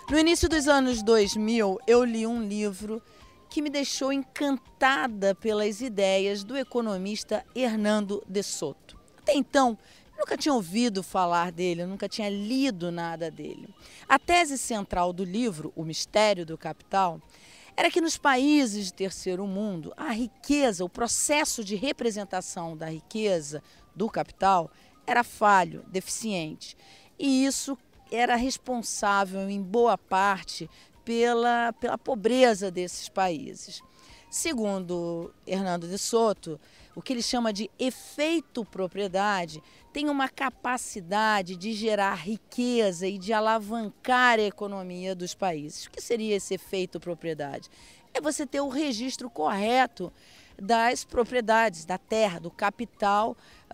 No início dos anos 2000, eu li um livro que me deixou encantada pelas ideias do economista Hernando de Soto. Até então, eu nunca tinha ouvido falar dele, eu nunca tinha lido nada dele. A tese central do livro, O Mistério do Capital, era que nos países de terceiro mundo, a riqueza, o processo de representação da riqueza do capital era falho, deficiente. E isso era responsável, em boa parte, pela pobreza desses países. Segundo Hernando de Soto, o que ele chama de efeito propriedade tem uma capacidade de gerar riqueza e de alavancar a economia dos países. O que seria esse efeito propriedade? É você ter o registro correto das propriedades, da terra, do capital,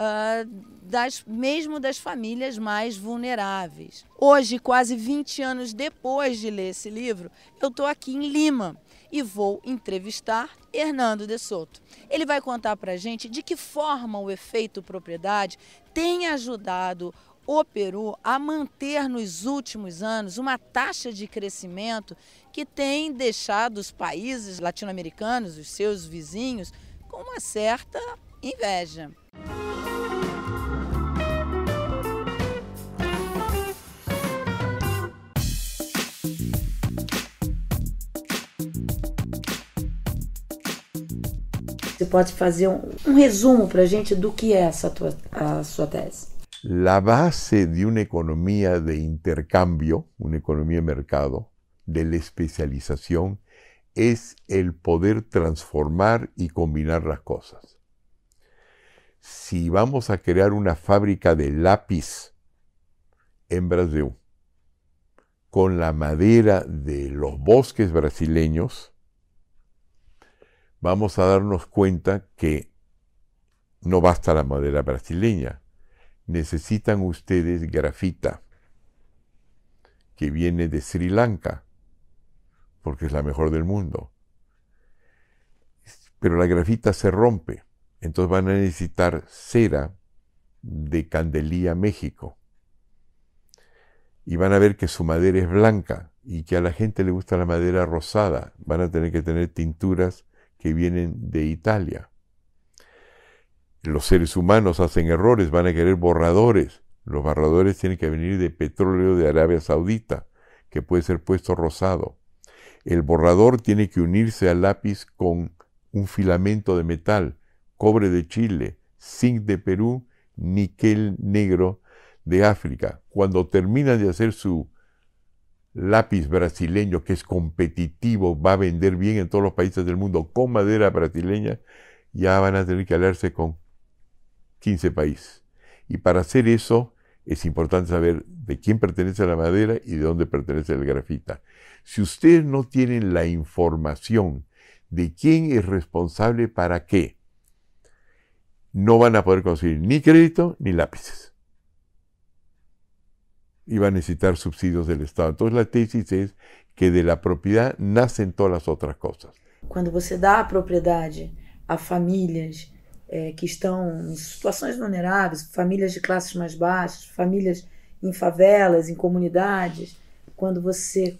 mesmo das famílias mais vulneráveis. Hoje, quase 20 anos depois de ler esse livro, eu estou aqui em Lima e vou entrevistar Hernando de Soto. Ele vai contar para a gente de que forma o efeito propriedade tem ajudado o Peru a manter nos últimos anos uma taxa de crescimento que tem deixado os países latino-americanos, os seus vizinhos, com uma certa inveja. Você pode fazer um resumo para a gente do que é a sua tese? La base de una economía de intercambio, una economía de mercado, de la especialización, es el poder transformar y combinar las cosas. Si vamos a crear una fábrica de lápiz en Brasil, con la madera de los bosques brasileños, vamos a darnos cuenta que no basta la madera brasileña. Necesitan ustedes grafita, que viene de Sri Lanka, porque es la mejor del mundo. Pero la grafita se rompe, entonces van a necesitar cera de Candelilla, México. Y van a ver que su madera es blanca y que a la gente le gusta la madera rosada. Van a tener que tener tinturas que vienen de Italia. Los seres humanos hacen errores, van a querer borradores. Los borradores tienen que venir de petróleo de Arabia Saudita, que puede ser puesto rosado. El borrador tiene que unirse al lápiz con un filamento de metal, cobre de Chile, zinc de Perú, níquel negro de África. Cuando terminan de hacer su lápiz brasileño, que es competitivo, va a vender bien en todos los países del mundo con madera brasileña, ya van a tener que aliarse con 15 países. Y para hacer eso es importante saber de quién pertenece la madera y de dónde pertenece el grafita. Si ustedes no tienen la información de quién es responsable para qué, no van a poder conseguir ni crédito ni lápices. Y van a necesitar subsidios del Estado. Entonces la tesis es que de la propiedad nacen todas las otras cosas. Quando você dá a propriedade a famílias que estão em situações vulneráveis, famílias de classes mais baixas, famílias em favelas, em comunidades, quando você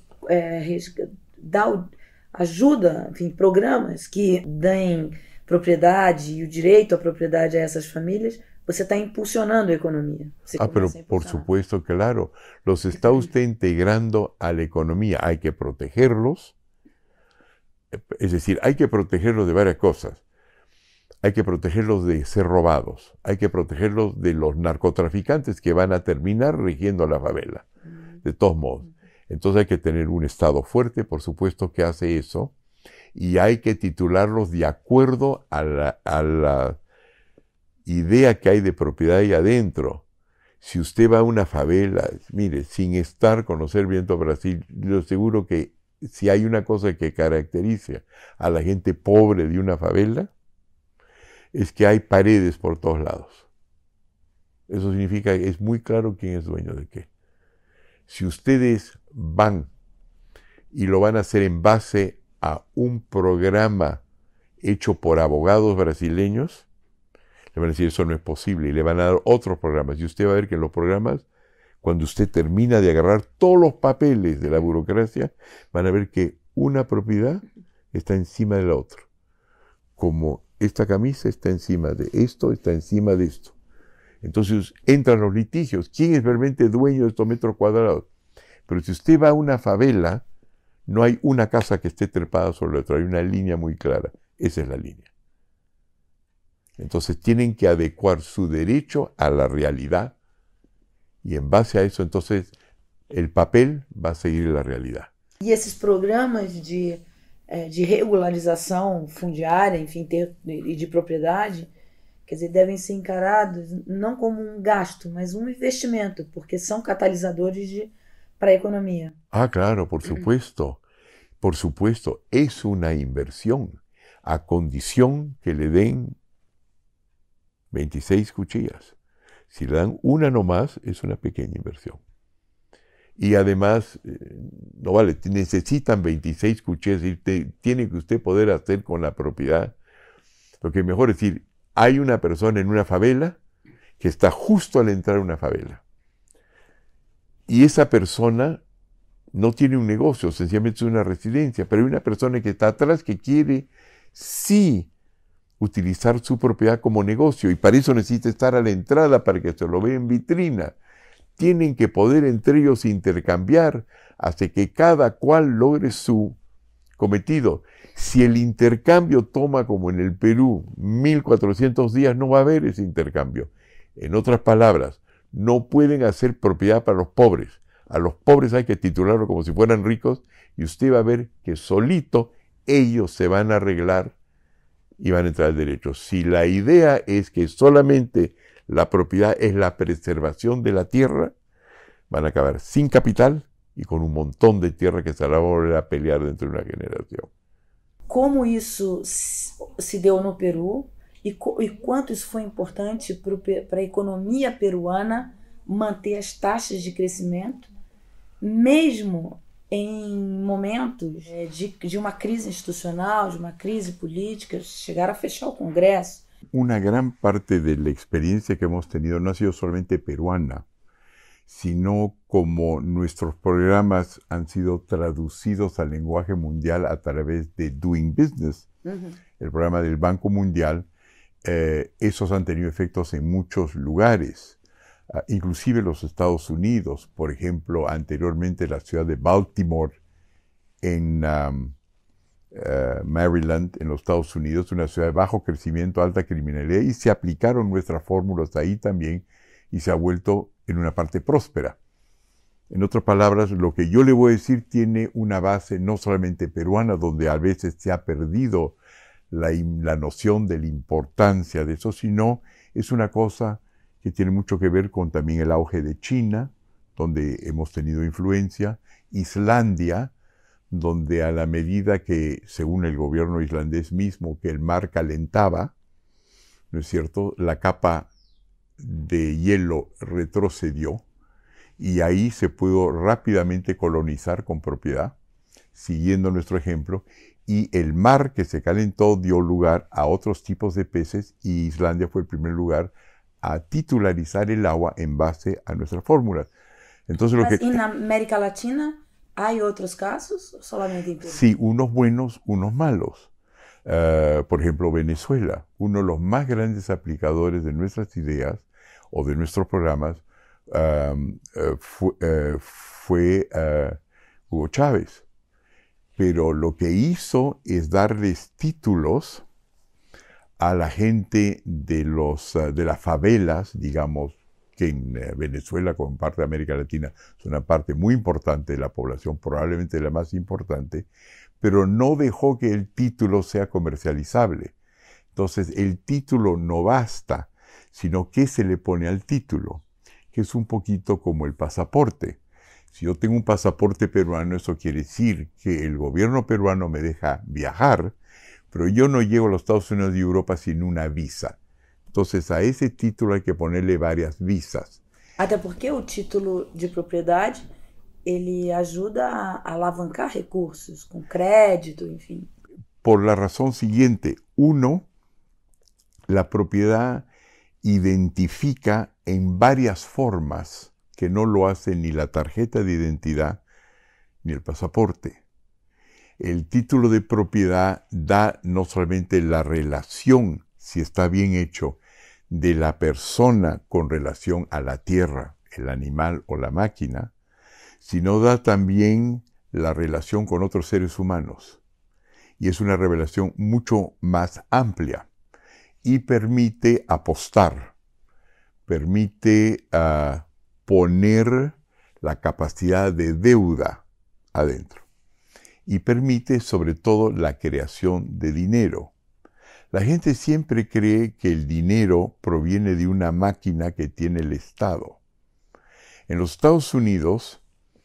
ajuda, enfim, programas que deem propriedade e o direito à propriedade a essas famílias, você está impulsionando a economía. Pero por supuesto, claro, los está usted integrando a la economía. Hay que protegerlos, es decir, hay que protegerlos de varias cosas. Hay que protegerlos de ser robados, hay que protegerlos de los narcotraficantes que van a terminar rigiendo la favela, de todos modos. Entonces hay que tener un Estado fuerte, por supuesto, que hace eso, y hay que titularlos de acuerdo a la idea que hay de propiedad ahí adentro. Si usted va a una favela, mire, sin conocer bien todo Brasil, yo seguro que si hay una cosa que caracteriza a la gente pobre de una favela, es que hay paredes por todos lados. Eso significa que es muy claro quién es dueño de qué. Si ustedes van y lo van a hacer en base a un programa hecho por abogados brasileños, le van a decir eso no es posible y le van a dar otros programas. Y usted va a ver que los programas cuando usted termina de agarrar todos los papeles de la burocracia, van a ver que una propiedad está encima de la otra. Como esta camisa está encima de esto, está encima de esto. Entonces entran los litigios. ¿Quién es realmente dueño de estos metros cuadrados? Pero si usted va a una favela, no hay una casa que esté trepada sobre la otra. Hay una línea muy clara. Esa es la línea. Entonces tienen que adecuar su derecho a la realidad. E em base a isso, então, o papel vai seguir a realidade. E esses programas de regularização fundiária, enfim, e de propriedade, quer dizer, devem ser encarados não como um gasto, mas um investimento, porque são catalisadores para a economia. Ah, claro, por supuesto. Por supuesto, é uma inversión. A condición que le den 26 cuchillas. Si le dan una nomás, es una pequeña inversión. Y además, no vale, necesitan 26 cuchillas y tiene que usted poder hacer con la propiedad. Lo que es mejor es decir, hay una persona en una favela que está justo al entrar a una favela. Y esa persona no tiene un negocio, sencillamente es una residencia, pero hay una persona que está atrás que quiere sí utilizar su propiedad como negocio y para eso necesita estar a la entrada para que se lo vea en vitrina. Tienen que poder entre ellos intercambiar hasta que cada cual logre su cometido. Si el intercambio toma, como en el Perú, 1400 días, no va a haber ese intercambio. En otras palabras, no pueden hacer propiedad para los pobres. A los pobres hay que titularlo como si fueran ricos y usted va a ver que solito ellos se van a arreglar y van a entrar al derecho. Si la idea es que solamente la propiedad es la preservación de la tierra, van a acabar sin capital y con un montón de tierra que se la va a volver a pelear dentro de una generación. Como isso se deu no Peru e quanto isso foi importante para a economia peruana manter as taxas de crescimento, mesmo em momentos de uma crise institucional, de uma crise política, chegar a fechar o Congresso. Una gran parte de la experiencia que hemos tenido no ha sido solamente peruana, sino como nuestros programas han sido traducidos al lenguaje mundial a través de Doing Business, el programa del Banco Mundial, esos han tenido efectos en muchos lugares. Inclusive los Estados Unidos, por ejemplo, anteriormente la ciudad de Baltimore en Maryland, en los Estados Unidos, una ciudad de bajo crecimiento, alta criminalidad, y se aplicaron nuestras fórmulas ahí también y se ha vuelto en una parte próspera. En otras palabras, lo que yo le voy a decir tiene una base no solamente peruana, donde a veces se ha perdido la noción de la importancia de eso, sino es una cosa que tiene mucho que ver con también el auge de China, donde hemos tenido influencia, Islandia, donde a la medida que, según el gobierno islandés mismo, que el mar calentaba, ¿no es cierto?, la capa de hielo retrocedió y ahí se pudo rápidamente colonizar con propiedad, siguiendo nuestro ejemplo, y el mar que se calentó dio lugar a otros tipos de peces y Islandia fue el primer lugar a titularizar el agua en base a nuestras fórmulas. Entonces, ¿Mas en América Latina hay otros casos o solamente en Perú? Sí, unos buenos, unos malos. Por ejemplo, Venezuela, uno de los más grandes aplicadores de nuestras ideas o de nuestros programas fue Hugo Chávez. Pero lo que hizo es darles títulos a la gente de las favelas, digamos, que en Venezuela, como parte de América Latina, es una parte muy importante de la población, probablemente la más importante, pero no dejó que el título sea comercializable. Entonces, el título no basta, sino ¿qué se le pone al título? Que es un poquito como el pasaporte. Si yo tengo un pasaporte peruano, eso quiere decir que el gobierno peruano me deja viajar, pero yo no llego a los Estados Unidos y Europa sin una visa. Entonces, a ese título hay que ponerle varias visas. Até porque o título de propriedade, ele ajuda a alavancar recursos, com crédito, enfim. Por la razón siguiente. Uno, la propiedad identifica en varias formas que no lo hace ni la tarjeta de identidad ni el pasaporte. El título de propiedad da no solamente la relación, si está bien hecho, de la persona con relación a la tierra, el animal o la máquina, sino da también la relación con otros seres humanos. Y es una revelación mucho más amplia y permite apostar, permite poner la capacidad de deuda adentro y permite sobre todo la creación de dinero. La gente siempre cree que el dinero proviene de una máquina que tiene el Estado. En los Estados Unidos,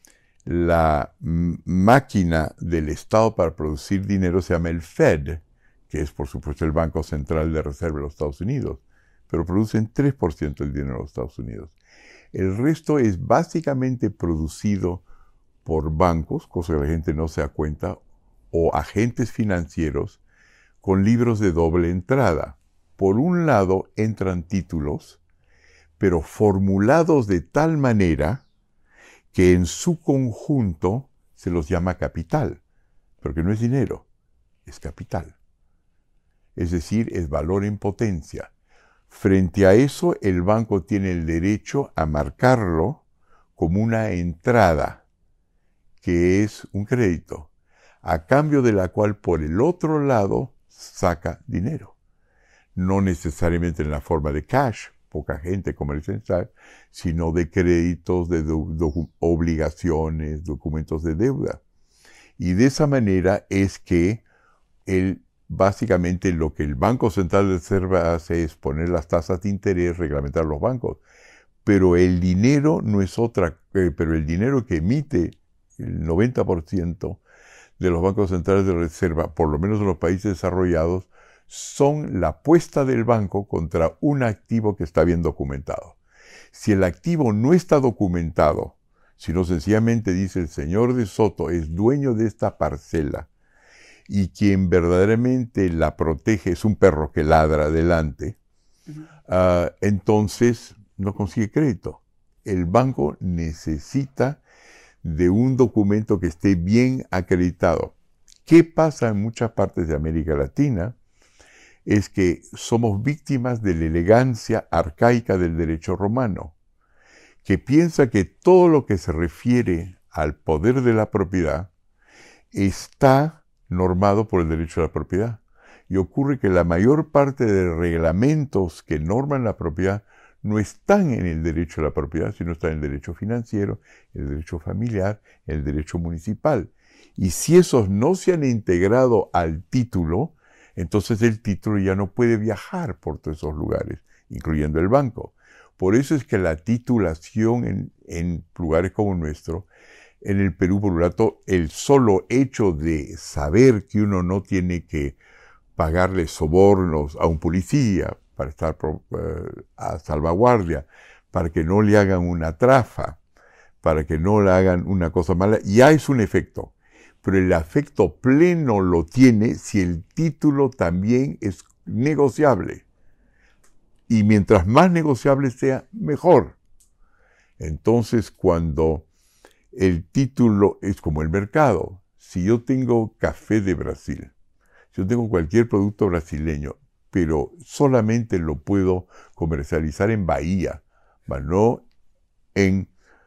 la máquina del Estado para producir dinero se llama el Fed, que es por supuesto el Banco Central de Reserva de los Estados Unidos, pero producen 3% del dinero de los Estados Unidos. El resto es básicamente producido por bancos, cosa que la gente no se da cuenta, o agentes financieros con libros de doble entrada. Por un lado entran títulos, pero formulados de tal manera que en su conjunto se los llama capital, porque no es dinero, es capital. Es decir, es valor en potencia. Frente a eso, el banco tiene el derecho a marcarlo como una entrada, que es un crédito, a cambio de la cual por el otro lado saca dinero. No necesariamente en la forma de cash, poca gente comercial, sino de créditos, de obligaciones, documentos de deuda. Y de esa manera es que básicamente lo que el Banco Central de Reserva hace es poner las tasas de interés, reglamentar los bancos. Pero el dinero no es pero el dinero que emite el 90% de los bancos centrales de reserva, por lo menos en los países desarrollados, son la apuesta del banco contra un activo que está bien documentado. Si el activo no está documentado, sino sencillamente dice el señor de Soto es dueño de esta parcela y quien verdaderamente la protege es un perro que ladra adelante, entonces no consigue crédito. El banco necesita de un documento que esté bien acreditado. ¿Qué pasa en muchas partes de América Latina? Es que somos víctimas de la elegancia arcaica del derecho romano, que piensa que todo lo que se refiere al poder de la propiedad está normado por el derecho a la propiedad. Y ocurre que la mayor parte de reglamentos que norman la propiedad no están en el derecho a la propiedad, sino están en el derecho financiero, el derecho familiar, el derecho municipal. Y si esos no se han integrado al título, entonces el título ya no puede viajar por todos esos lugares, incluyendo el banco. Por eso es que la titulación en lugares como el nuestro, en el Perú, por un lado, el solo hecho de saber que uno no tiene que pagarle sobornos a un policía para estar a salvaguardia, para que no le hagan una trafa, para que no le hagan una cosa mala, ya es un efecto. Pero el efecto pleno lo tiene si el título también es negociable. Y mientras más negociable sea, mejor. Entonces, cuando el título es como el mercado, si yo tengo café de Brasil, si yo tengo cualquier producto brasileño, pero solamente lo puedo comercializar en Bahía, no en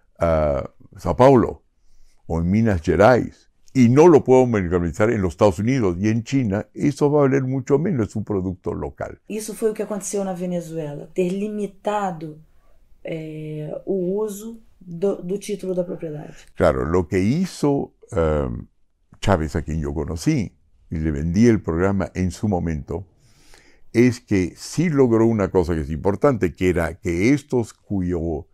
Sao Paulo o en Minas Gerais, y no lo puedo comercializar en los Estados Unidos y en China, eso va a valer mucho menos, es un producto local. Isso foi o que aconteceu na Venezuela, ter limitado o uso do título da propriedade. Claro, lo que hizo Chávez, a quien yo conocí, y le vendí el programa en su momento, es que sí logró una cosa que es importante, que era que estos cuyo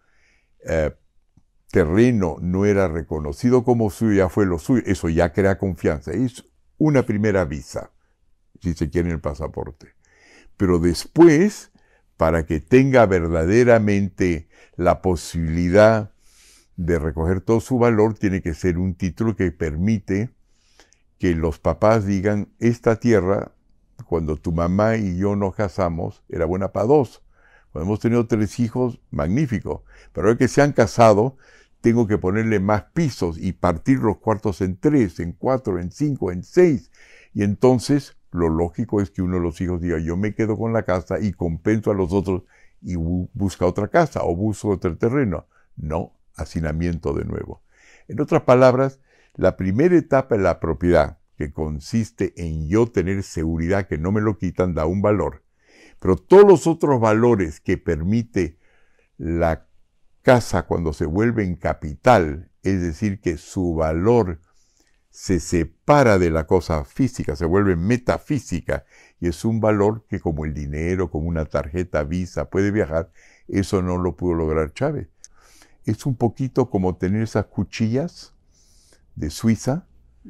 terreno no era reconocido como suyo, ya fue lo suyo, eso ya crea confianza, es una primera visa, si se quiere en el pasaporte. Pero después, para que tenga verdaderamente la posibilidad de recoger todo su valor, tiene que ser un título que permite que los papás digan, esta tierra, cuando tu mamá y yo nos casamos, era buena para dos, Cuando hemos tenido 3 hijos, magnífico. Pero ahora que se han casado, tengo que ponerle más pisos y partir los cuartos en 3, en 4, en 5, en 6. Y entonces, lo lógico es que uno de los hijos diga, yo me quedo con la casa y compenso a los otros y busca otra casa o busca otro terreno. No, hacinamiento de nuevo. En otras palabras, la primera etapa de la propiedad, que consiste en yo tener seguridad que no me lo quitan, da un valor. Pero todos los otros valores que permite la casa cuando se vuelve en capital, es decir, que su valor se separa de la cosa física, se vuelve metafísica, y es un valor que como el dinero, como una tarjeta Visa puede viajar, eso no lo pudo lograr Chávez. Es un poquito como tener esas cuchillas de Suiza.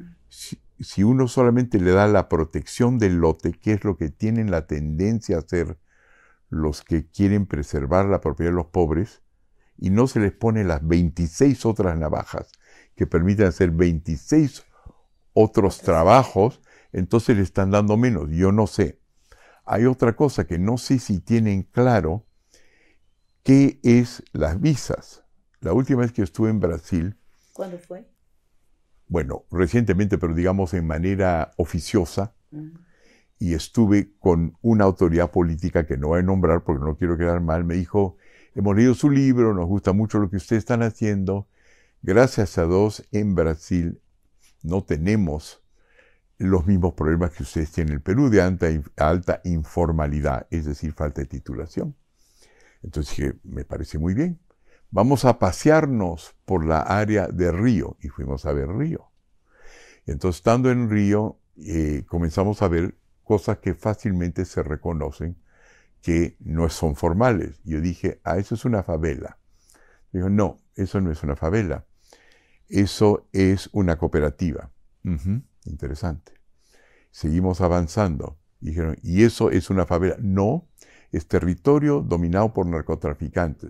Si uno solamente le da la protección del lote, que es lo que tienen la tendencia a hacer los que quieren preservar la propiedad de los pobres, y no se les pone las 26 otras navajas que permiten hacer 26 otros trabajos, entonces le están dando menos. Yo no sé. Hay otra cosa que no sé si tienen claro, qué es las visas. La última vez que estuve en Brasil... ¿Cuándo fue? Bueno, recientemente, pero digamos en manera oficiosa, y estuve con una autoridad política que no voy a nombrar porque no quiero quedar mal. Me dijo, hemos leído su libro, nos gusta mucho lo que ustedes están haciendo. Gracias a Dios, en Brasil no tenemos los mismos problemas que ustedes tienen en el Perú de alta informalidad, es decir, falta de titulación. Entonces dije, me parece muy bien. Vamos a pasearnos por la área de Río, y fuimos a ver Río. Entonces, estando en Río, comenzamos a ver cosas que fácilmente se reconocen que no son formales. Yo dije, eso es una favela. Dijo, no, eso no es una favela. Eso es una cooperativa. Interesante. Seguimos avanzando. Dijeron, ¿y eso es una favela? No, es territorio dominado por narcotraficantes.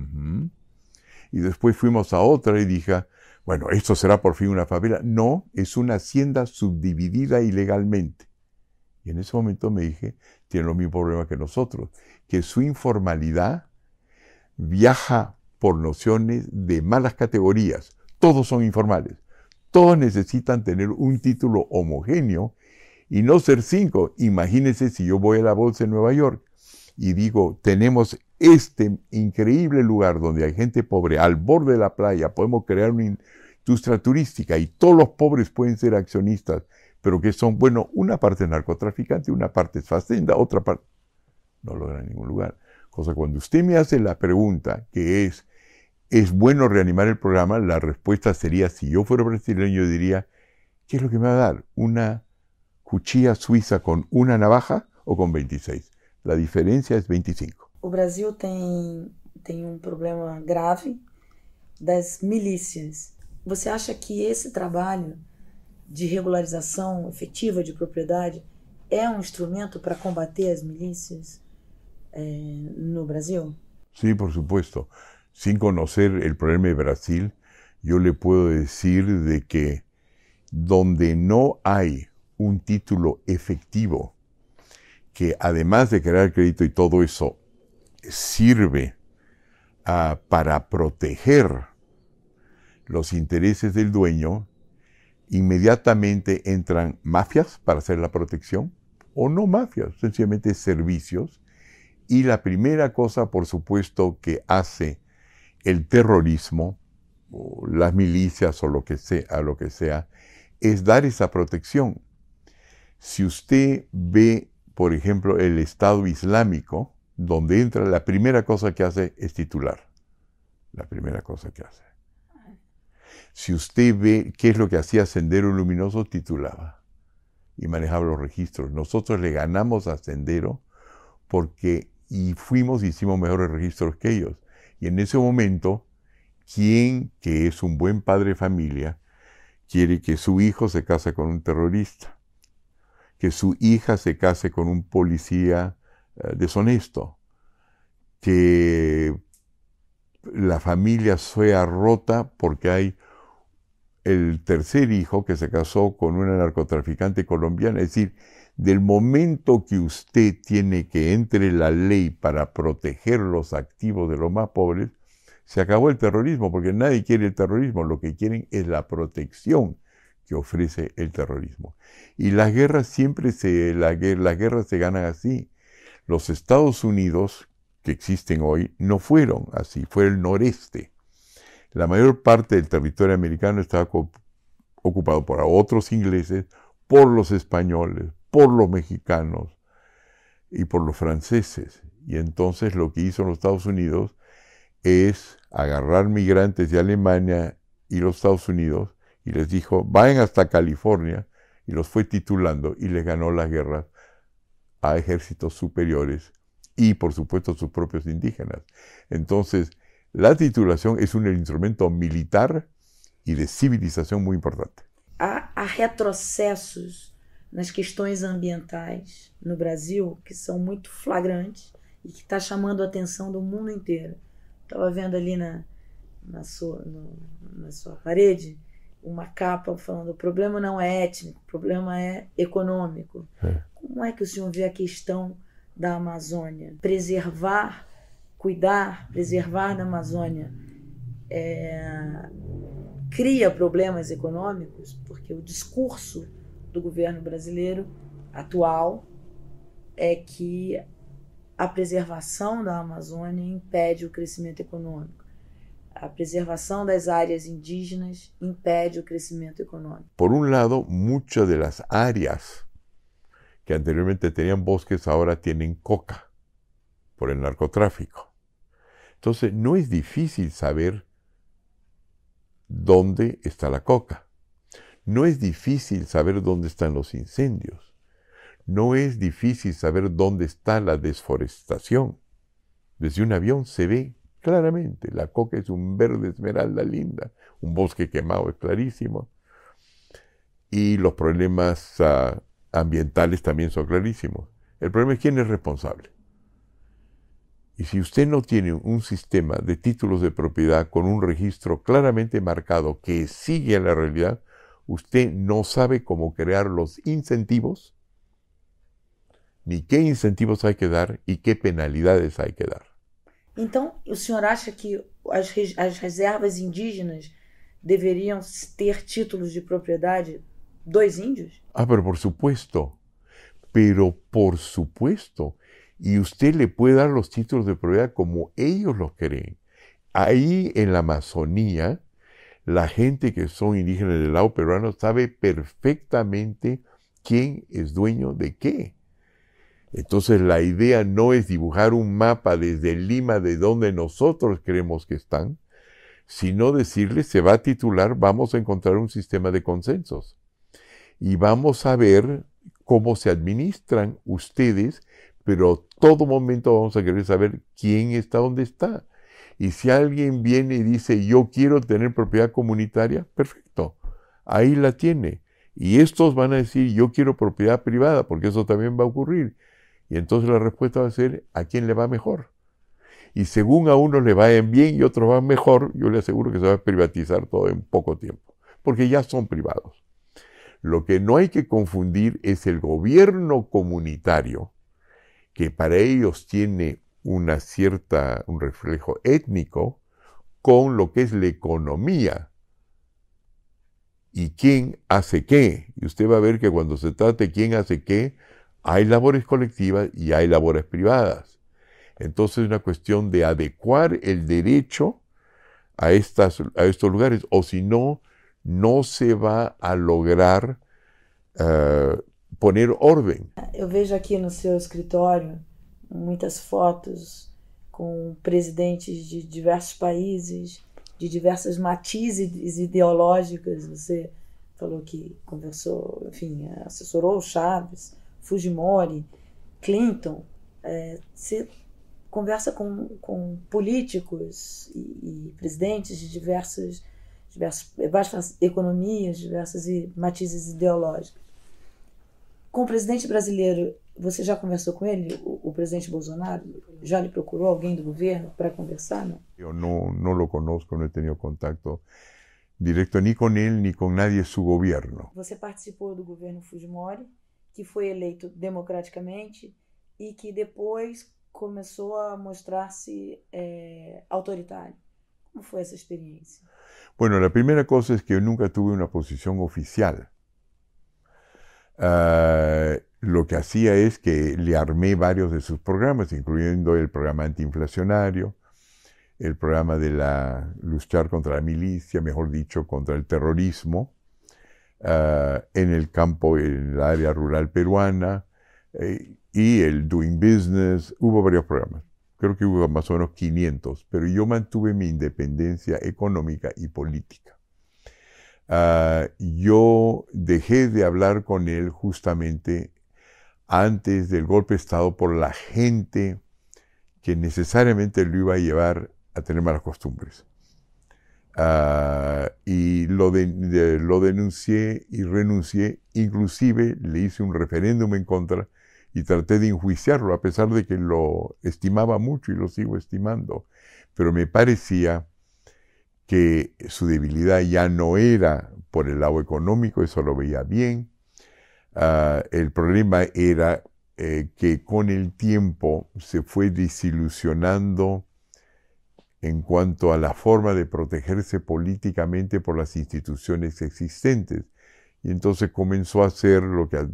Y después fuimos a otra y dije, bueno, ¿esto será por fin una favela? No, es una hacienda subdividida ilegalmente. Y en ese momento me dije, tiene los mismos problemas que nosotros, que su informalidad viaja por nociones de malas categorías. Todos son informales. Todos necesitan tener un título homogéneo y no ser 5. Imagínense si yo voy a la bolsa en Nueva York y digo, tenemos este increíble lugar donde hay gente pobre al borde de la playa, podemos crear una industria turística y todos los pobres pueden ser accionistas, pero que son, bueno, una parte es narcotraficante, una parte es fazenda, otra parte no logra en ningún lugar. Cosa cuando usted me hace la pregunta que ¿es bueno reanimar el programa? La respuesta sería, si yo fuera brasileño, yo diría, ¿qué es lo que me va a dar? ¿Una cuchilla suiza con una navaja o con 26? La diferencia es 25. O Brasil tem problema grave das milícias. Você acha que esse trabalho de regularização efetiva de propriedade é instrumento para combater as milícias no Brasil? Sí, por supuesto. Sin conocer el problema de Brasil, yo le puedo decir de que donde no hay un título efectivo, que además de crear crédito y todo eso, sirve para proteger los intereses del dueño, inmediatamente entran mafias para hacer la protección, o no mafias, sencillamente servicios. Y la primera cosa, por supuesto, que hace el terrorismo, o las milicias o lo que sea, es dar esa protección. Si usted ve, por ejemplo, el Estado Islámico, donde entra, la primera cosa que hace es titular. La primera cosa que hace. Si usted ve qué es lo que hacía Sendero Luminoso, titulaba y manejaba los registros. Nosotros le ganamos a Sendero porque hicimos mejores registros que ellos. Y en ese momento, ¿quién que es un buen padre de familia quiere que su hijo se case con un terrorista? Que su hija se case con un policía deshonesto? Que la familia sea rota porque hay el tercer hijo que se casó con una narcotraficante colombiana. Es decir, Del momento que usted tiene que entre la ley para proteger los activos de los más pobres, se acabó el terrorismo, porque nadie quiere el terrorismo, lo que quieren es la protección que ofrece el terrorismo. Y las guerras las guerras se ganan así. Los Estados Unidos que existen hoy no fueron así, fue el noreste. La mayor parte del territorio americano estaba ocupado por otros ingleses, por los españoles, por los mexicanos y por los franceses. Y entonces lo que hizo los Estados Unidos es agarrar migrantes de Alemania y los Estados Unidos y les dijo, vayan hasta California, y los fue titulando y les ganó las guerras a ejércitos superiores y por supuesto a sus propios indígenas. Entonces, la titulação es un instrumento militar e de civilização muito importante. Há retrocessos nas questões ambientais no Brasil que são muito flagrantes e que está chamando a atenção do mundo inteiro. Estava vendo ali na sua parede uma capa falando: o problema não é étnico, o problema é econômico. Como é que o senhor vê a questão da Amazônia? Preservar, cuidar, preservar da Amazônia cria problemas econômicos, porque o discurso do governo brasileiro atual é que a preservação da Amazônia impede o crescimento econômico. A preservação das áreas indígenas impede o crescimento econômico. Por un lado, muchas de las áreas que anteriormente tenían bosques ahora tienen coca por el narcotráfico. Entonces, no es difícil saber dónde está la coca. No es difícil saber dónde están los incendios. No es difícil saber dónde está la desforestación. Desde un avión se ve claramente. La coca es un verde esmeralda linda. Un bosque quemado es clarísimo. Y los problemas ambientales también son clarísimos. El problema es quién es responsable. Y si usted no tiene un sistema de títulos de propiedad con un registro claramente marcado que sigue a la realidad, usted no sabe cómo crear los incentivos, ni qué incentivos hay que dar y qué penalidades hay que dar. Então, o senhor acha que as reservas indígenas deveriam ter títulos de propriedade dos índios? Pero por supuesto. Y usted le puede dar los títulos de propiedad como ellos los creen. Ahí en la Amazonía, la gente que son indígenas del lado peruano sabe perfectamente quién es dueño de qué. Entonces la idea no es dibujar un mapa desde Lima de donde nosotros creemos que están, sino decirles, se va a titular, vamos a encontrar un sistema de consensos. Y vamos a ver cómo se administran ustedes, pero todo momento vamos a querer saber quién está donde está. Y si alguien viene y dice, yo quiero tener propiedad comunitaria, perfecto, ahí la tiene. Y estos van a decir, yo quiero propiedad privada, porque eso también va a ocurrir. Y entonces la respuesta va a ser, ¿a quién le va mejor? Y según a unos le vayan bien y otros van mejor, yo le aseguro que se va a privatizar todo en poco tiempo, porque ya son privados. Lo que no hay que confundir es el gobierno comunitario, que para ellos tiene un reflejo étnico, con lo que es la economía. ¿Y quién hace qué? Y usted va a ver que cuando se trata de quién hace qué, hay labores colectivas y hay labores privadas. Entonces es una cuestión de adecuar el derecho a estos lugares, o si no, no se va a lograr poner orden. Eu vejo aqui no seu escritório muitas fotos com presidentes de diversos países, de diversas matizes ideológicas. Você falou que conversou, enfim, assessorou o Chaves, Fujimori, Clinton. Você conversa com políticos e presidentes de diversas economias, diversas matizes ideológicas. Com o presidente brasileiro, você já conversou com ele, o presidente Bolsonaro? Já lhe procurou alguém do governo para conversar? Não? Eu no lo conozco, no he tenido contacto directo ni con él ni con nadie de su gobierno. Você participou do governo Fujimori que foi eleito democraticamente e que depois começou a mostrar-se autoritário. ¿Cómo fue esa experiencia? Bueno, la primera cosa es que yo nunca tuve una posición oficial. Lo que hacía es que le armé varios de sus programas, incluyendo el programa antiinflacionario, el programa de luchar contra la milicia, mejor dicho, contra el terrorismo, en el campo, en el área rural peruana, y el Doing Business. Hubo varios programas. Creo que hubo más o menos 500, pero yo mantuve mi independencia económica y política. Yo dejé de hablar con él justamente antes del golpe de Estado por la gente que necesariamente lo iba a llevar a tener malas costumbres. Y lo denuncié y renuncié, inclusive le hice un referéndum en contra y traté de enjuiciarlo, a pesar de que lo estimaba mucho y lo sigo estimando. Pero me parecía que su debilidad ya no era por el lado económico, eso lo veía bien. El problema era que con el tiempo se fue desilusionando en cuanto a la forma de protegerse políticamente por las instituciones existentes. Y entonces comenzó a hacer lo que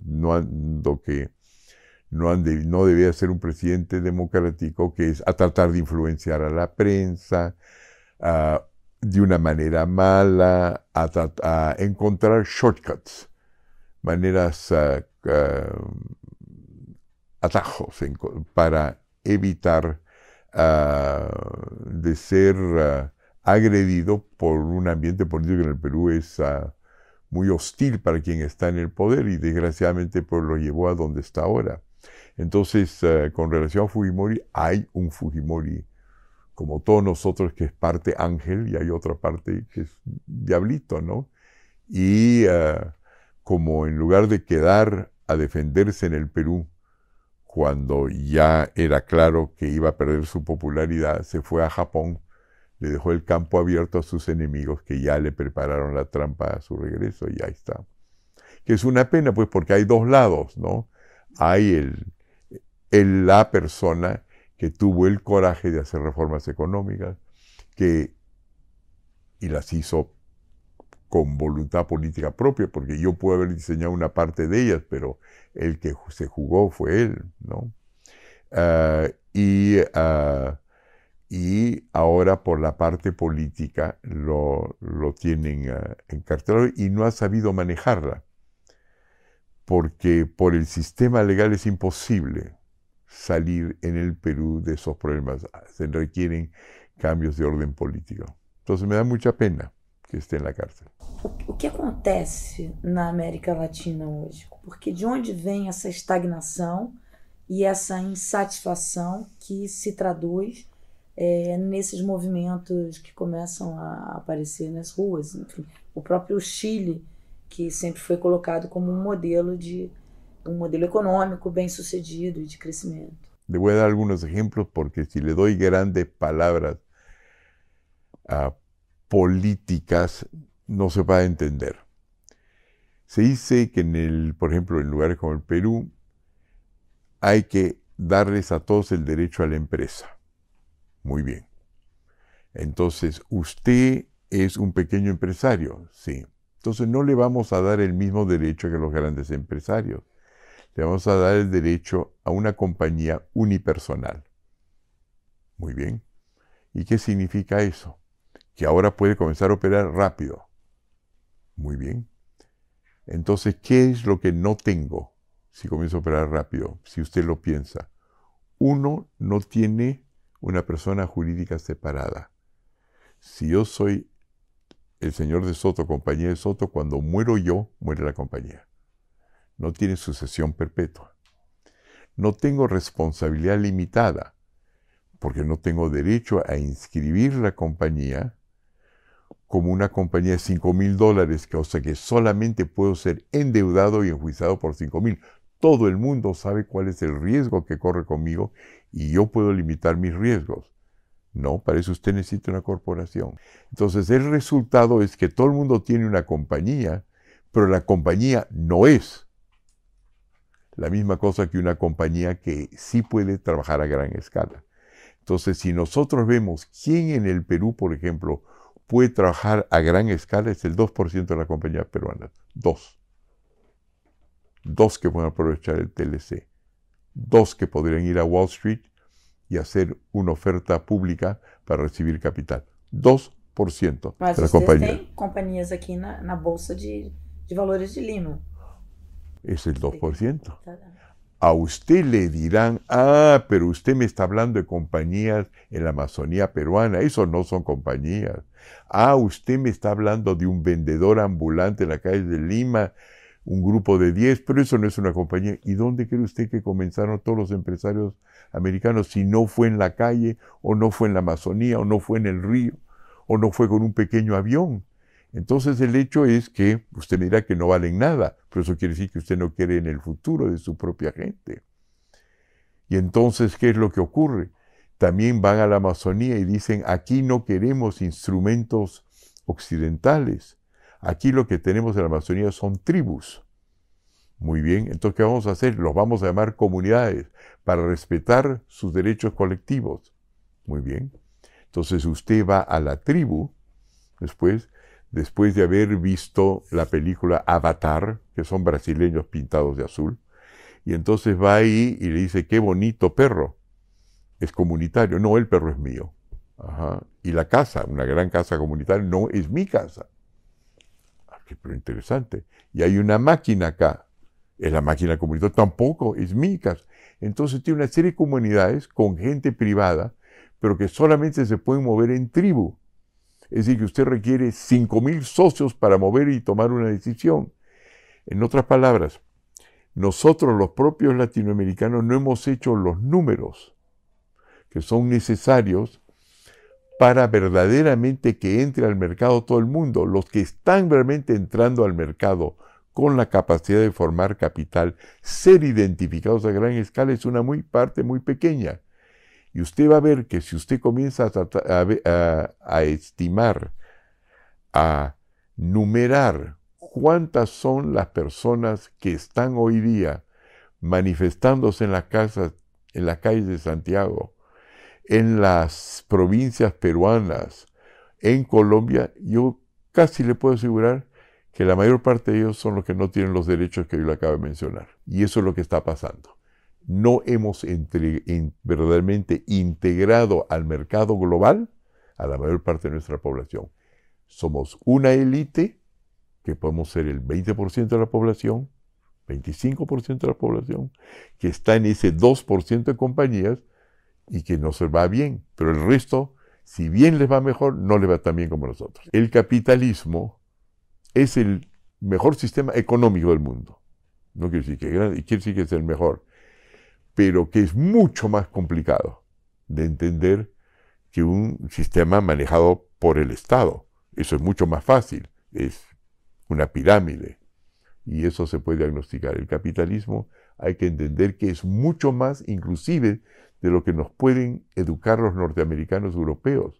no debía ser un presidente democrático, que es a tratar de influenciar a la prensa de una manera mala, a encontrar shortcuts, maneras, atajos para evitar de ser agredido por un ambiente político que en el Perú es muy hostil para quien está en el poder y desgraciadamente pues lo llevó a donde está ahora. Entonces, con relación a Fujimori, hay un Fujimori, como todos nosotros, que es parte ángel y hay otra parte que es diablito, ¿no? Y como en lugar de quedar a defenderse en el Perú, cuando ya era claro que iba a perder su popularidad, se fue a Japón, le dejó el campo abierto a sus enemigos que ya le prepararon la trampa a su regreso y ahí está. Que es una pena, pues, porque hay dos lados, ¿no? Hay la persona que tuvo el coraje de hacer reformas económicas y las hizo con voluntad política propia, porque yo puedo haber diseñado una parte de ellas, pero el que se jugó fue él, ¿no? Y ahora por la parte política lo tienen encarcelado y no ha sabido manejarla, porque por el sistema legal es imposible salir en el Perú de esos problemas. Se requieren cambios de orden político. Entonces me da mucha pena que esté en la cárcel. O que acontece na América Latina hoje? Porque de onde vem essa estagnação e essa insatisfação que se traduz nesses movimentos que começam a aparecer nas ruas? Enfim, o próprio Chile, que sempre foi colocado como um modelo econômico bem sucedido e de crescimento. Le voy a dar algunos ejemplos porque si le doy grandes palabras políticas no se va a entender. Se dice que por ejemplo, en lugares como el Perú, hay que darles a todos el derecho a la empresa. Muy bien. Entonces, usted es un pequeño empresario, sí. Entonces no le vamos a dar el mismo derecho que los grandes empresarios. Le vamos a dar el derecho a una compañía unipersonal. Muy bien. ¿Y qué significa eso? Que ahora puede comenzar a operar rápido. Muy bien. Entonces, ¿qué es lo que no tengo si comienzo a operar rápido? Si usted lo piensa. Uno, no tiene una persona jurídica separada. Si yo soy el señor de Soto, compañía de Soto, cuando muero yo, muere la compañía. No tiene sucesión perpetua. No tengo responsabilidad limitada, porque no tengo derecho a inscribir la compañía como una compañía de $5,000, o sea que solamente puedo ser endeudado y enjuiciado por $5,000. Todo el mundo sabe cuál es el riesgo que corre conmigo y yo puedo limitar mis riesgos. No, para eso usted necesita una corporación. Entonces el resultado es que todo el mundo tiene una compañía, pero la compañía no es La misma cosa que una compañía que sí puede trabajar a gran escala. Entonces, si nosotros vemos quién en el Perú, por ejemplo, puede trabajar a gran escala, es el 2% de las compañías peruanas. Dos que pueden aprovechar el TLC. 2 que podrían ir a Wall Street y hacer una oferta pública para recibir capital. 2% Mas de las vocês compañías. têm companhias aqui na Bolsa de Valores de Lima. Es el 2%. Tá? A usted le dirán, pero usted me está hablando de compañías en la Amazonía peruana. Eso no son compañías. Usted me está hablando de un vendedor ambulante en la calle de Lima, un grupo de 10, pero eso no es una compañía. ¿Y dónde cree usted que comenzaron todos los empresarios americanos si no fue en la calle, o no fue en la Amazonía, o no fue en el río, o no fue con un pequeño avión? Entonces el hecho es que usted me dirá que no valen nada, pero eso quiere decir que usted no quiere en el futuro de su propia gente. Y entonces, ¿qué es lo que ocurre? También van a la Amazonía y dicen, aquí no queremos instrumentos occidentales. Aquí lo que tenemos en la Amazonía son tribus. Muy bien, entonces, ¿qué vamos a hacer? Los vamos a llamar comunidades para respetar sus derechos colectivos. Muy bien. Entonces usted va a la tribu, después de haber visto la película Avatar, que son brasileños pintados de azul, y entonces va ahí y le dice, qué bonito perro, es comunitario. No, el perro es mío. Ajá. Y la casa, una gran casa comunitaria, no es mi casa. Pero interesante. Y hay una máquina acá, es la máquina comunitaria, tampoco es mi casa. Entonces tiene una serie de comunidades con gente privada, pero que solamente se pueden mover en tribu. Es decir, que usted requiere 5.000 socios para mover y tomar una decisión. En otras palabras, nosotros los propios latinoamericanos no hemos hecho los números que son necesarios para verdaderamente que entre al mercado todo el mundo. Los que están realmente entrando al mercado con la capacidad de formar capital, ser identificados a gran escala, es una parte muy pequeña. Y usted va a ver que si usted comienza a estimar, a numerar cuántas son las personas que están hoy día manifestándose en las calles de Santiago, en las provincias peruanas, en Colombia, yo casi le puedo asegurar que la mayor parte de ellos son los que no tienen los derechos que yo le acabo de mencionar. Y eso es lo que está pasando. No hemos verdaderamente integrado al mercado global a la mayor parte de nuestra población. Somos una élite, que podemos ser el 20% de la población, 25% de la población, que está en ese 2% de compañías y que no se va bien. Pero el resto, si bien les va mejor, no les va tan bien como nosotros. El capitalismo es el mejor sistema económico del mundo. No quiere decir que es grande, quiere decir que es el mejor, pero que es mucho más complicado de entender que un sistema manejado por el Estado. Eso es mucho más fácil, es una pirámide, y eso se puede diagnosticar. El capitalismo hay que entender que es mucho más, inclusive, de lo que nos pueden educar los norteamericanos europeos,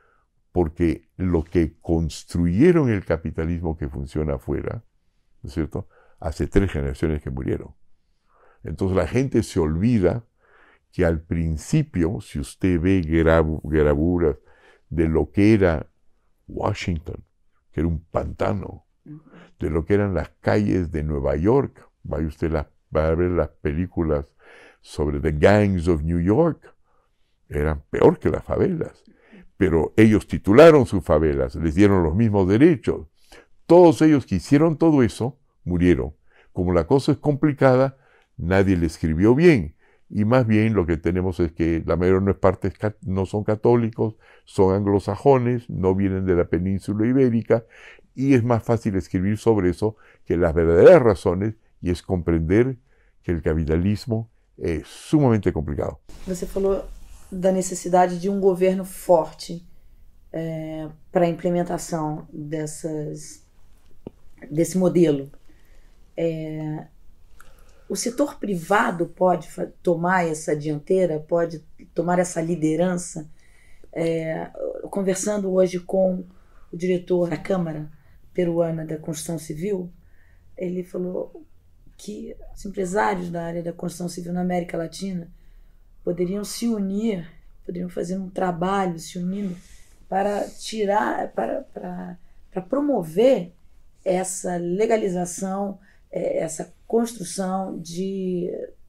porque lo que construyeron el capitalismo que funciona afuera, ¿no es cierto?, hace 3 generaciones que murieron. Entonces la gente se olvida que al principio, si usted ve gravuras de lo que era Washington, que era un pantano, de lo que eran las calles de Nueva York, va a ver las películas sobre The Gangs of New York, eran peor que las favelas, pero ellos titularon sus favelas, les dieron los mismos derechos. Todos ellos que hicieron todo eso, murieron. Como la cosa es complicada, nadie le escribió bien, y más bien lo que tenemos es que la mayor parte no son católicos, son anglosajones, no vienen de la península ibérica, y es más fácil escribir sobre eso que las verdaderas razones, y es comprender que el capitalismo es sumamente complicado. Você falou da necessidade de governo forte para a implementação desse modelo. O setor privado pode tomar essa dianteira, pode tomar essa liderança? Conversando hoje com o diretor da Câmara Peruana da Construção Civil, ele falou, que os empresários da área da construção civil na América Latina poderiam se unir, poderiam fazer um trabalho se unindo para promover essa legalização, essa construção de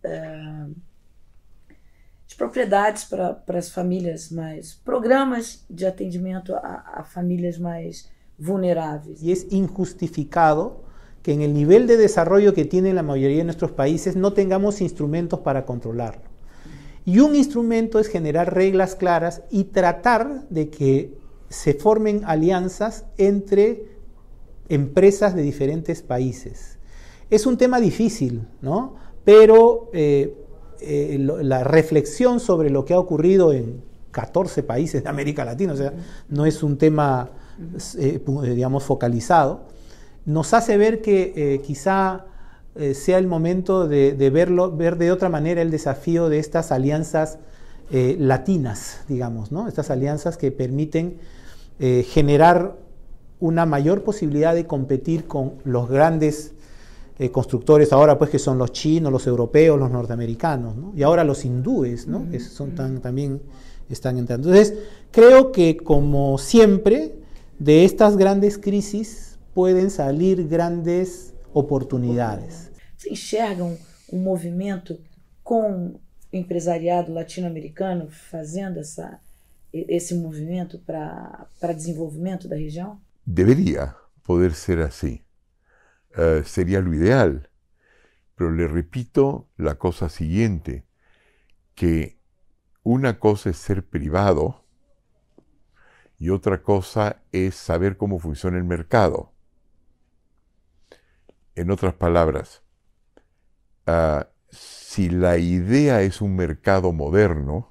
propriedades para as famílias programas de atendimento a famílias más vulnerables. Y es injustificado que en el nivel de desarrollo que tiene la mayoría de nuestros países no tengamos instrumentos para controlarlo. Y un instrumento es generar reglas claras y tratar de que se formen alianzas entre empresas de diferentes países. Es un tema difícil, ¿no? Pero la reflexión sobre lo que ha ocurrido en 14 países de América Latina, o sea, no es un tema, digamos, focalizado, nos hace ver que quizá sea el momento de ver de otra manera el desafío de estas alianzas latinas, digamos, ¿no? Estas alianzas que permiten generar una mayor posibilidad de competir con los grandes constructores ahora, pues, que son los chinos, los europeos, los norteamericanos, ¿no? Y ahora los hindúes, ¿no? Que son también están entrando. Entonces, creo que, como siempre, de estas grandes crisis pueden salir grandes oportunidades. Você enxerga um movimento com o empresariado latino-americano fazendo esse movimento para desenvolvimento da região? Debería poder ser así. Sería lo ideal. Pero le repito la cosa siguiente, que una cosa es ser privado y otra cosa es saber cómo funciona el mercado. En otras palabras, si la idea es un mercado moderno,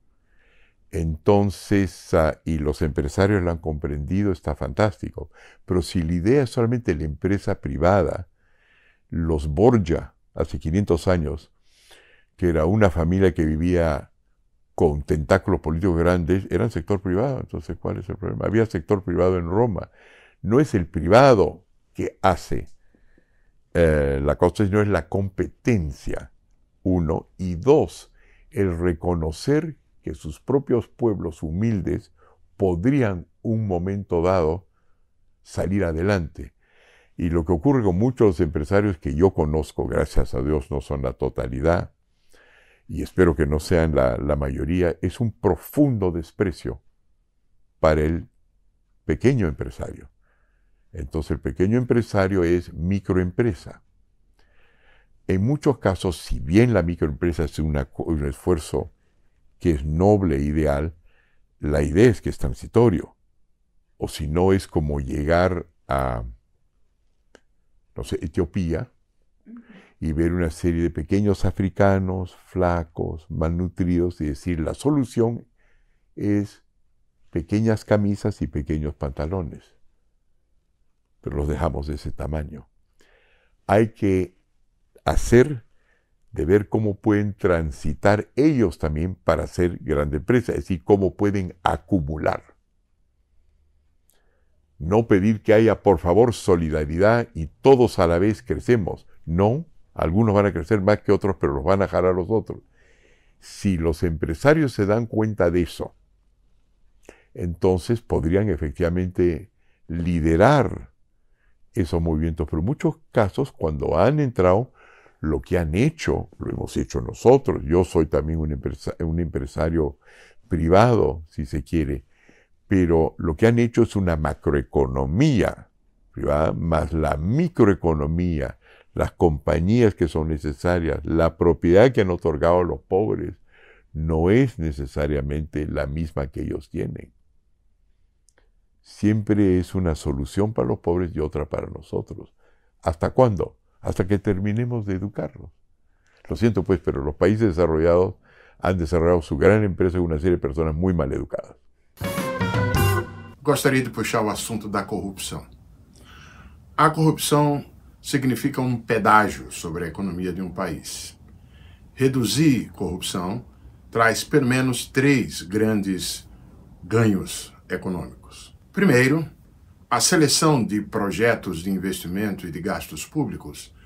entonces, y los empresarios lo han comprendido, está fantástico. Pero si la idea es solamente la empresa privada, los Borgia, hace 500 años, que era una familia que vivía con tentáculos políticos grandes, eran sector privado. Entonces, ¿cuál es el problema? Había sector privado en Roma. No es el privado que hace la cosa, sino es la competencia, uno. Y dos, el reconocer que sus propios pueblos humildes podrían un momento dado salir adelante. Y lo que ocurre con muchos empresarios que yo conozco, gracias a Dios no son la totalidad, y espero que no sean la mayoría, es un profundo desprecio para el pequeño empresario. Entonces el pequeño empresario es microempresa. En muchos casos, si bien la microempresa es un esfuerzo que es noble e ideal, la idea es que es transitorio. O si no, es como llegar a, no sé, Etiopía y ver una serie de pequeños africanos, flacos, malnutridos, y decir, la solución es pequeñas camisas y pequeños pantalones. Pero los dejamos de ese tamaño. Hay que de ver cómo pueden transitar ellos también para ser grande empresa, es decir, cómo pueden acumular. No pedir que haya, por favor, solidaridad y todos a la vez crecemos. No, algunos van a crecer más que otros, pero los van a jalar los otros. Si los empresarios se dan cuenta de eso, entonces podrían efectivamente liderar esos movimientos. Pero en muchos casos, cuando han entrado, lo que han hecho, lo hemos hecho nosotros. Yo soy también un empresario privado, si se quiere, pero lo que han hecho es una macroeconomía privada, más la microeconomía, las compañías que son necesarias, la propiedad que han otorgado a los pobres, no es necesariamente la misma que ellos tienen. Siempre es una solución para los pobres y otra para nosotros. ¿Hasta cuándo? Hasta que terminemos de educarlos. Lo siento pues, pero los países desarrollados han desarrollado su gran empresa con una serie de personas muy mal educadas. Gostaria de puxar o assunto da corrupção. A corrupção significa um pedágio sobre a economia de um país. Reduzir corrupção traz pelo menos 3 grandes ganhos econômicos. Primeiro, a seleção de projetos de investimento e de gastos públicos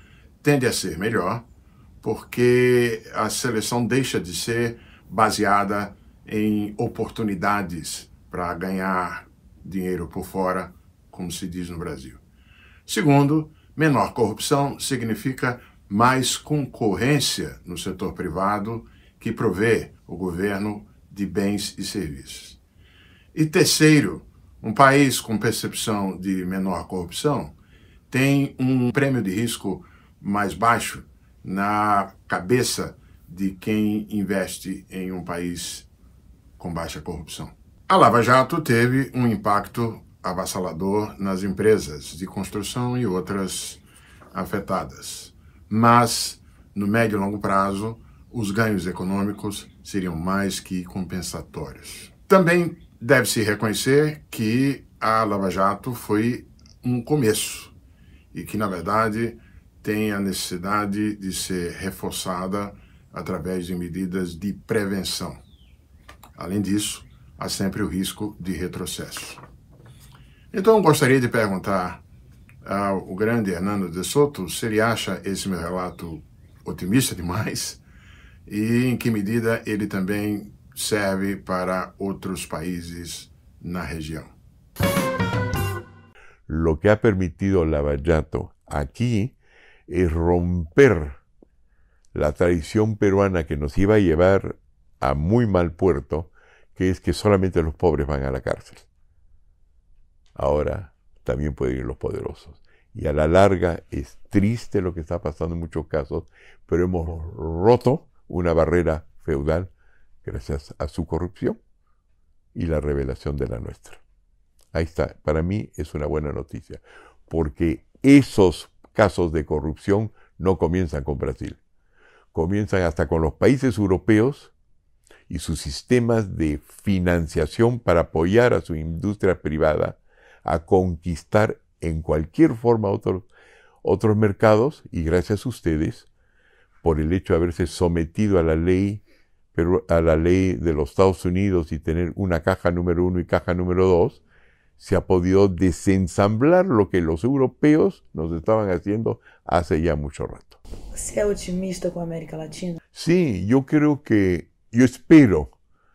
tende a ser melhor, porque a seleção deixa de ser baseada em oportunidades para ganhar dinheiro por fora, como se diz no Brasil. Segundo, menor corrupção significa mais concorrência no setor privado que provê o governo de bens e serviços. E terceiro, um país com percepção de menor corrupção tem um prêmio de risco mais baixo na cabeça de quem investe em um país com baixa corrupção. A Lava Jato teve um impacto avassalador nas empresas de construção e outras afetadas, mas no médio e longo prazo os ganhos econômicos seriam mais que compensatórios. Também deve-se reconhecer que a Lava Jato foi um começo e que, na verdade, tem a necessidade de ser reforçada através de medidas de prevenção. Além disso, há sempre o risco de retrocesso. Então, gostaria de perguntar ao grande Hernando de Soto se ele acha esse meu relato otimista demais e em que medida ele também serve para otros países na región. Lo que ha permitido Lava Jato aquí es romper la tradición peruana que nos iba a llevar a muy mal puerto, que es que solamente los pobres van a la cárcel. Ahora también pueden ir los poderosos. Y a la larga es triste lo que está pasando en muchos casos, pero hemos roto una barrera feudal gracias a su corrupción y la revelación de la nuestra. Ahí está, para mí es una buena noticia, porque esos casos de corrupción no comienzan con Brasil, comienzan hasta con los países europeos y sus sistemas de financiación para apoyar a su industria privada a conquistar en cualquier forma otros mercados, y gracias a ustedes, por el hecho de haberse sometido a la ley de los Estados Unidos y tener una caja número 1 y caja número 2, se ha podido desensamblar lo que los europeos nos estaban haciendo hace ya mucho rato. ¿Você es otimista con América Latina? Sí, yo espero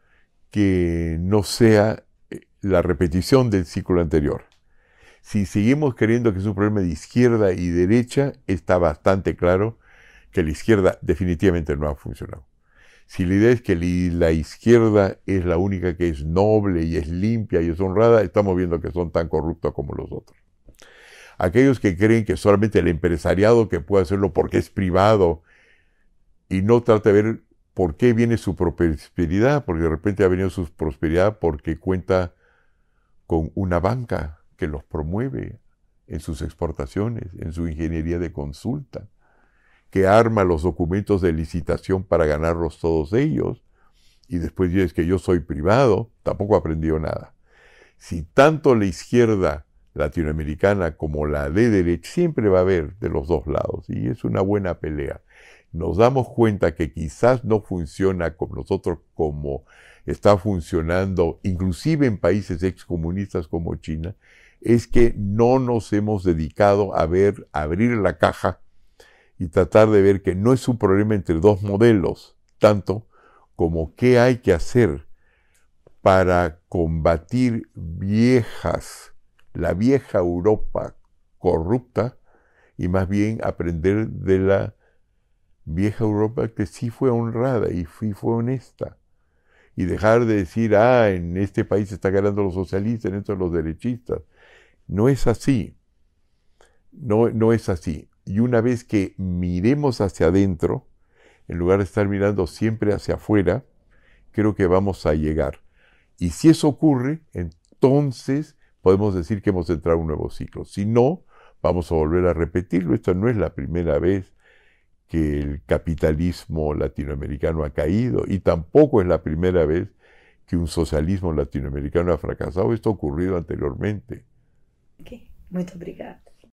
que no sea la repetición del ciclo anterior. Si seguimos creyendo que es un problema de izquierda y derecha, está bastante claro que la izquierda definitivamente no ha funcionado. Si la idea es que la izquierda es la única que es noble y es limpia y es honrada, estamos viendo que son tan corruptos como los otros. Aquellos que creen que solamente el empresariado que puede hacerlo porque es privado y no trata de ver por qué viene su prosperidad, porque de repente ha venido su prosperidad porque cuenta con una banca que los promueve en sus exportaciones, en su ingeniería de consulta, que arma los documentos de licitación para ganarlos todos ellos, y después dices que yo soy privado, tampoco aprendió nada. Si tanto la izquierda latinoamericana como la de derecha, siempre va a haber de los dos lados, y es una buena pelea. Nos damos cuenta que quizás no funciona con nosotros como está funcionando, inclusive en países excomunistas como China, es que no nos hemos dedicado a abrir la caja y tratar de ver que no es un problema entre dos modelos, tanto como qué hay que hacer para combatir la vieja Europa corrupta, y más bien aprender de la vieja Europa que sí fue honrada y fue honesta. Y dejar de decir, en este país está ganando los socialistas, en esto los derechistas. No es así. No es así. Y una vez que miremos hacia adentro, en lugar de estar mirando siempre hacia afuera, creo que vamos a llegar. Y si eso ocurre, entonces podemos decir que hemos entrado en un nuevo ciclo. Si no, vamos a volver a repetirlo. Esta no es la primera vez que el capitalismo latinoamericano ha caído, y tampoco es la primera vez que un socialismo latinoamericano ha fracasado. Esto ha ocurrido anteriormente. Ok, muito obrigada.